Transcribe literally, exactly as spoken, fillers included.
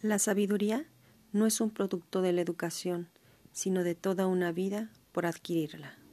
La sabiduría no es un producto de la educación, sino de toda una vida por adquirirla.